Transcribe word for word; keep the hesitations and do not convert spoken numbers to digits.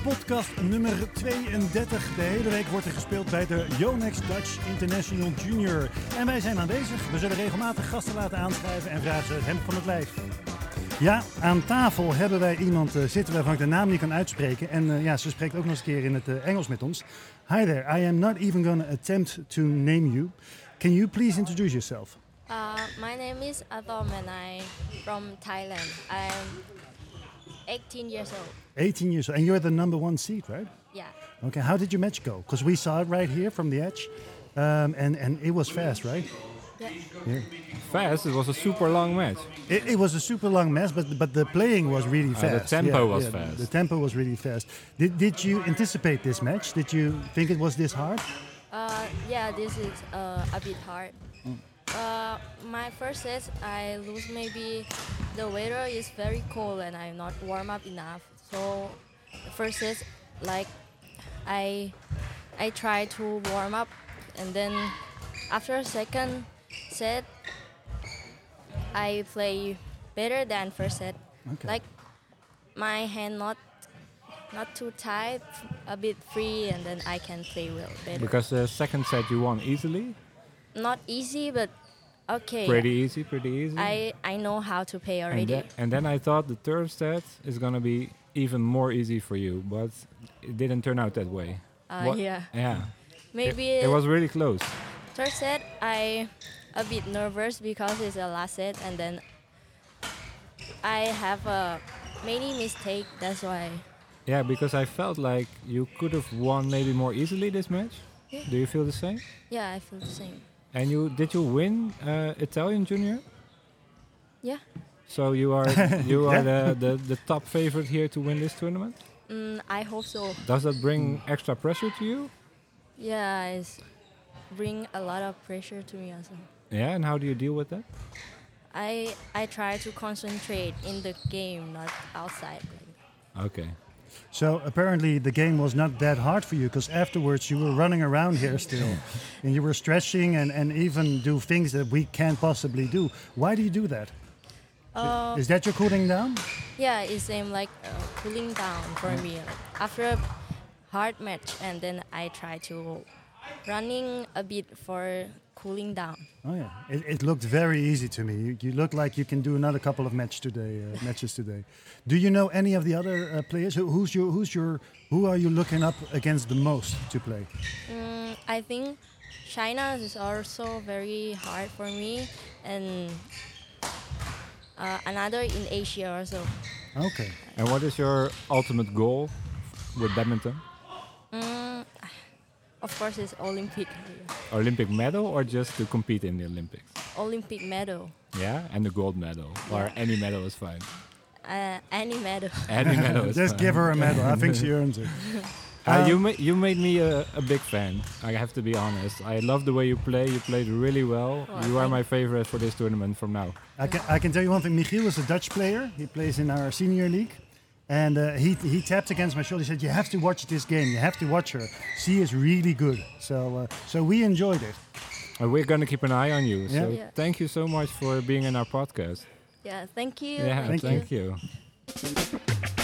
podcast nummer tweeëndertig. De hele week wordt er gespeeld bij de Yonex Dutch International Junior. En wij zijn aanwezig. We zullen regelmatig gasten laten aanschrijven en vragen ze het hemd van het lijf. Ja, aan tafel hebben wij iemand uh, zitten waarvan ik de naam niet kan uitspreken. En uh, ja, ze spreekt ook nog eens een keer in het uh, Engels met ons. Hi there, I am not even going to attempt to name you. Can you please introduce yourself? Uh, my name is Atom and I'm from Thailand. I'm eighteen years old. eighteen years old. And you're the number one seed, right? Yeah. Okay, how did your match go? Because we saw it right here from the edge. Um, and, and it was fast, right? Yeah. Yeah. Fast? It was a super long match. It, it was a super long match, but but the playing was really Uh, fast. the tempo Yeah, was yeah, fast. The tempo was really fast. Did did you anticipate this match? Did you think it was this hard? Uh, yeah, this is uh, a bit hard. Uh, my first set, I lose maybe the weather is very cold and I'm not warm up enough. So the first set, like I I try to warm up, and then after second set, I play better than first set. Okay. Like my hand not not too tight, a bit free, and then I can play well better. Because the second set you won easily. Not easy, but okay. Pretty easy, pretty easy. I, I know how to play and, already. the- and then I third the third set is gonna be even more easy for you, but it didn't turn out that way. Uh, What- yeah. Yeah. Maybe It, it was really close. third set I a bit nervous because it's the last set, and then I have a many mistake. That's why. Yeah, because I felt like you could have won maybe more easily this match. Yeah. Do you feel the same? Yeah, I feel the same. And you did you win uh, Italian Junior? Yeah. So you are you are the, the, the top favorite here to win this tournament? Mm, I hope so. Does that bring extra pressure to you? Yeah, it's bring a lot of pressure to me also. Yeah, and how do you deal with that? I I try to concentrate in the game, not outside. Okay. So apparently the game was not that hard for you, because afterwards you were running around here still, and you were stretching and, and even do things that we can't possibly do. Why do you do that? Uh, Is that your cooling down? Yeah, it seems like uh, cooling down for me. Like after a hard match, and then I try to running a bit for cooling down. Oh yeah, it, it looked very easy to me. You, you look like you can do another couple of match today, uh, matches today. Do you know any of the other uh, players? Who, who's your who's your who are you looking up against the most to play? Mm, I think China is also very hard for me, and uh, another in Asia also. Okay. And what is your ultimate goal with badminton? Mm, of course, it's Olympic. Olympic medal or just to compete in the Olympics? Olympic medal. Yeah, and the gold medal or any medal is fine. Uh, any medal. Any medal is Just fine. give her a medal. I think she earns it. Uh, Um, you ma- you made me a, a big fan. I have to be honest. I love the way you play. You played really well. Oh, you are thank my favorite for this tournament from now. I can I can tell you one thing. Michiel is a Dutch player. He plays in our senior league, and uh, he he tapped against my shoulder. He said, "You have to watch this game. You have to watch her. She is really good." So uh, so we enjoyed it. And we're gonna keep an eye on you. Yeah. So Yeah. thank you so much for being in our podcast. Yeah, thank you. Yeah, Thank thank, you. you.